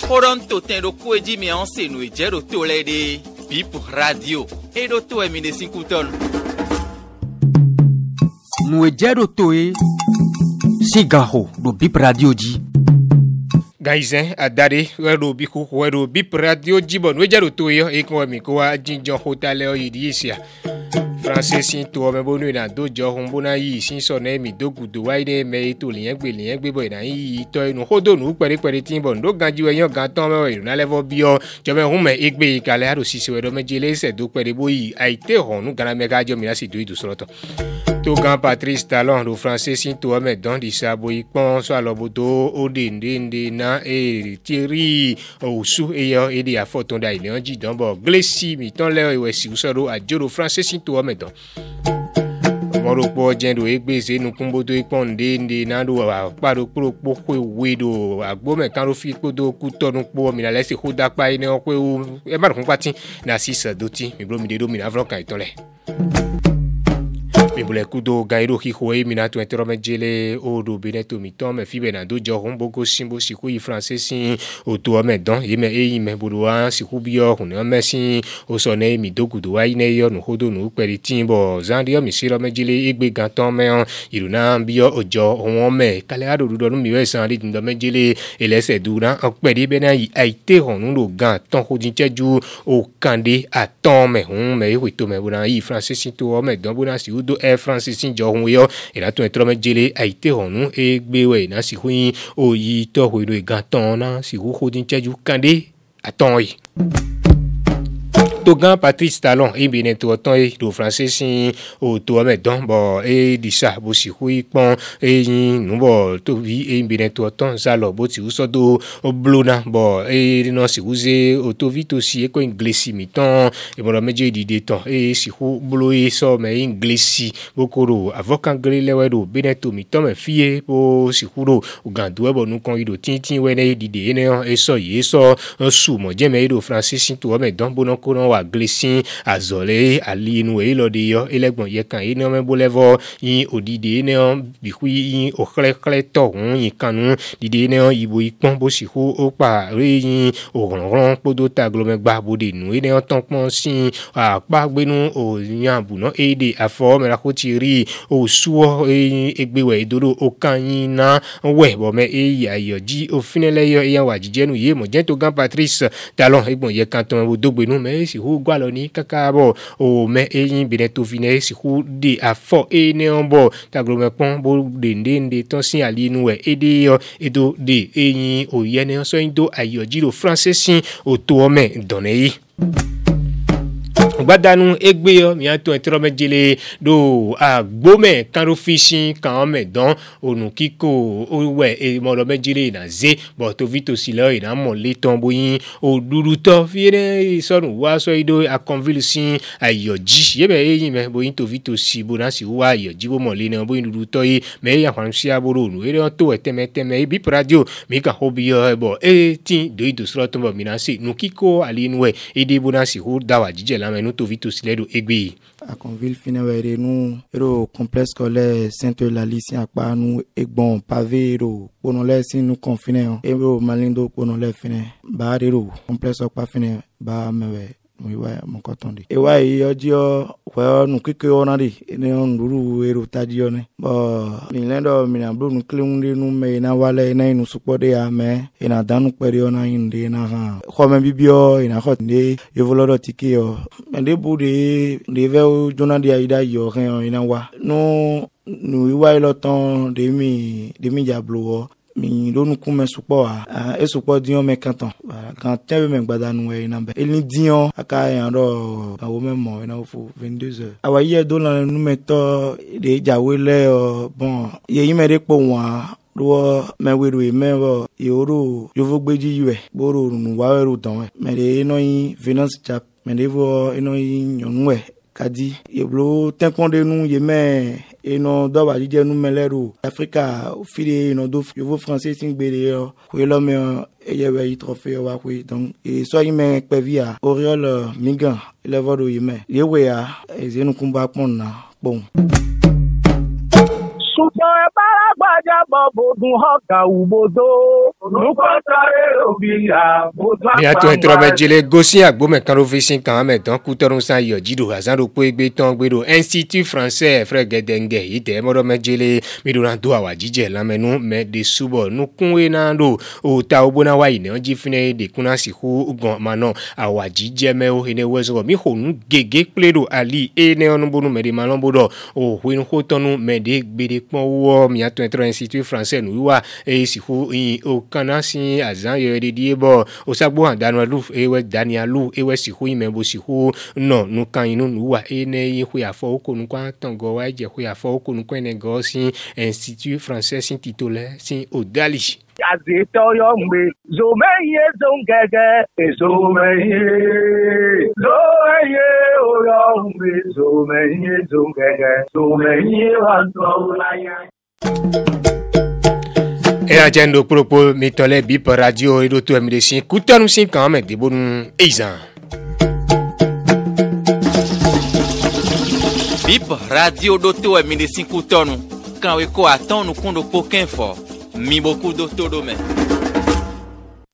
Horonto tendo kueji mi anse no ejero tolede. Bip radio. Edo to emine 5 ton. No ejero toe. Sigaho do Bip radio ji. Gaizen adare wero biku wero Bip radio ji bon ejero toe e ko mi ko ajinjo hotel o yidisia. Francis to me bonu na dojo humbona yi sin so na mi dogudo waide me to liyan gbe boy na yi to inu hodonu pere tin bon do ganji we yan gan ton me na level bio jo me hun me egbe ikale aro sisi we do mejele se do pere boyi aite honu gana me ga jo mi na si do idu soroto to gan Patrice Talon do Francis to me don di sabo ipon so alobodo ode ndende na e tiri osu e yo e di afoton da ile onji don bo glesi mi ton le we si usoro ajoro Francis to me don moropo jendo egbese nu kumbodo iponde nde nando paro propo ko wedo agbome kan ro fi podo ku tonu po mi na lesi hoda pa ine o pe o e ma kun pati na sisa doti mi bro mi de do mi na vron kan itonle mi bule kudo gairo hi hoe mina tu enterome jele o do beneto mi ton me fi benado jo humbogo simbo siku i francesi o to me don yeme e me buruwa siku bio hun me sin o so ne mi dogudo wa ine yo no hodo no peri timbo zandio mi siro me jele egbe gan ton me iruna bio ojo won me kale ado do no mi we san ri ndo me jele elese dura o peri bena yi aite honu lo gan ton hodin cheju o kande aton me hun me wi to me buna i francesi to me don buna si udo Francis Njohun yo ila to entro me jele aite honu egbewe na si huin oyi to ho ilo iganton na si hu hodin cheju kande aton yi Togan Patrice Talon e bien to ton e do Francis o to me don bo e di sa bo si hui pon e yin nu bo to vi e bien to ton za lo bo ti uso do blona bo e no si uze o to vi to si e ko inglesi mi ton e mo meje di de ton e si hu blo e so me inglesi bo koro avocat gre le we do bien to mi ton me fie bo si hu do o gandu e bo nu kon ido tin we ne di de ne e so ye so su mo je me do Francis to me don bo no ko no Glesin azole ali nu e lo de yo elegbon ye kan ene me bolevo yin odide ne bi hu yin o kle to yin kanu dide ne ibo ipon bo si hu o pa re yin o ron podo ta glome gba bode nu ene ton pon sin a pa gbenu o yan bu no e de afo me la ko ti ri o suo egbewe idodo o kan yin na we bo me e ya yo ji o finele yo yan wa jije nu ye mo je to gan Patrice Talon egbon ye kan ton o dogbenu me si hu gwalo ni kakabo o me eyin bineto vine si hu de afo e ne onbo taglome pon bo de ndende ton sin ali nu e ede yo edo de eyin o ye ne so indo ayojiro francesin o to me donei gbadanu egbe yo mi ato entro me jele do agbome karo fishing kan me don onu kiko o we e mo lo me jele na ze but to vito silo ina mo le ton boyin o duru to fiere sonu wa so ido a conville sin ayoji ye be yin me boyin to vito si bona si wa ayoji bo mo le na boyin duru to yi me ya kwan si aboro nu ere to eteme Bip radio mi ka hobi yo bo e tin do ido sro to bo mi na si nu kiko ali nu e de bona si hu dawa jije la me to vito siledo egbe a Conville finewere nu ero complexe scolaire Sainte-Eulalie si apa nu egbon pavé ero ponole si nu confine ero malindo ponole fine ba ero complexe okpa fine ba mewe Mwiwa mkotonde. Ewa yojo kwa nukike onari ene onduru eru tajione. Ba nilendo minablu nuklimundi nume ina wale ina inu supode ya me ina danu periona inde na ha. Kwa mbibio ina hot nde yevolodo tiki yo. Mende bude ndeve jonadi ya ida yo ina wa. No iwa iloton demi jablo mi lonu kume supo e supo dion me kanton kan tebe me gbadanu e na be elni dion aka yan ro awo memo ina fo 22h awa ye do la nu me to de jawele bon ye yimere po wa lo me weru e me wo yoro yovo gbeji yue boro nu wa weru don me de no yin finance chap me de vo ino yin yonwe kadi yeblo tenkonde nu ye me eno do ba jije nu meleru Africa fili eno do yovo français singbele yo ko lo me yewe yi trophée wa ko donc e so yi me pevia Oriol Migan le vodo yi me yewe ya ezenu kumba pon na bon Super Ni ato entrome jele gosi agbome kan officin kan medan kutorun san yo jido azan ro pe gbe ton gbero Institut Français frère Gedenge ite modo mejele miduran do awa jije lamenu me de subo nu kunwe na do o ta obona wa ine onji fine de kuna siku ugon mano awa jije me o ene wezo mi honu gege pledo ali ene onubunu me de malombodo o winu hotonu me de gbede pon wo mi ato entro Institut Français nu wa e siku yin o kana sin azan yo de diebo o sagbo andanu lu ewe danialu ewe siku yin me bo siku no nu kan inu nu wa ene yin hu afo okonu kwa tango wa je hu afo okonu kwa ene go sin Institut Français sin titulaire sin odali Azitoyo mbe zomeye zongege zomeye oyo mbe zomeye zongege wanzolaya. Et agenda propos mitole bip radio et d'autres médecins coûtent nous 5 ans mais des bons eizan. Bip radio d'autres médecins coûtent nous quand we ko attend nous kondo pokin fort. Mi beaucoup d'autres domaines.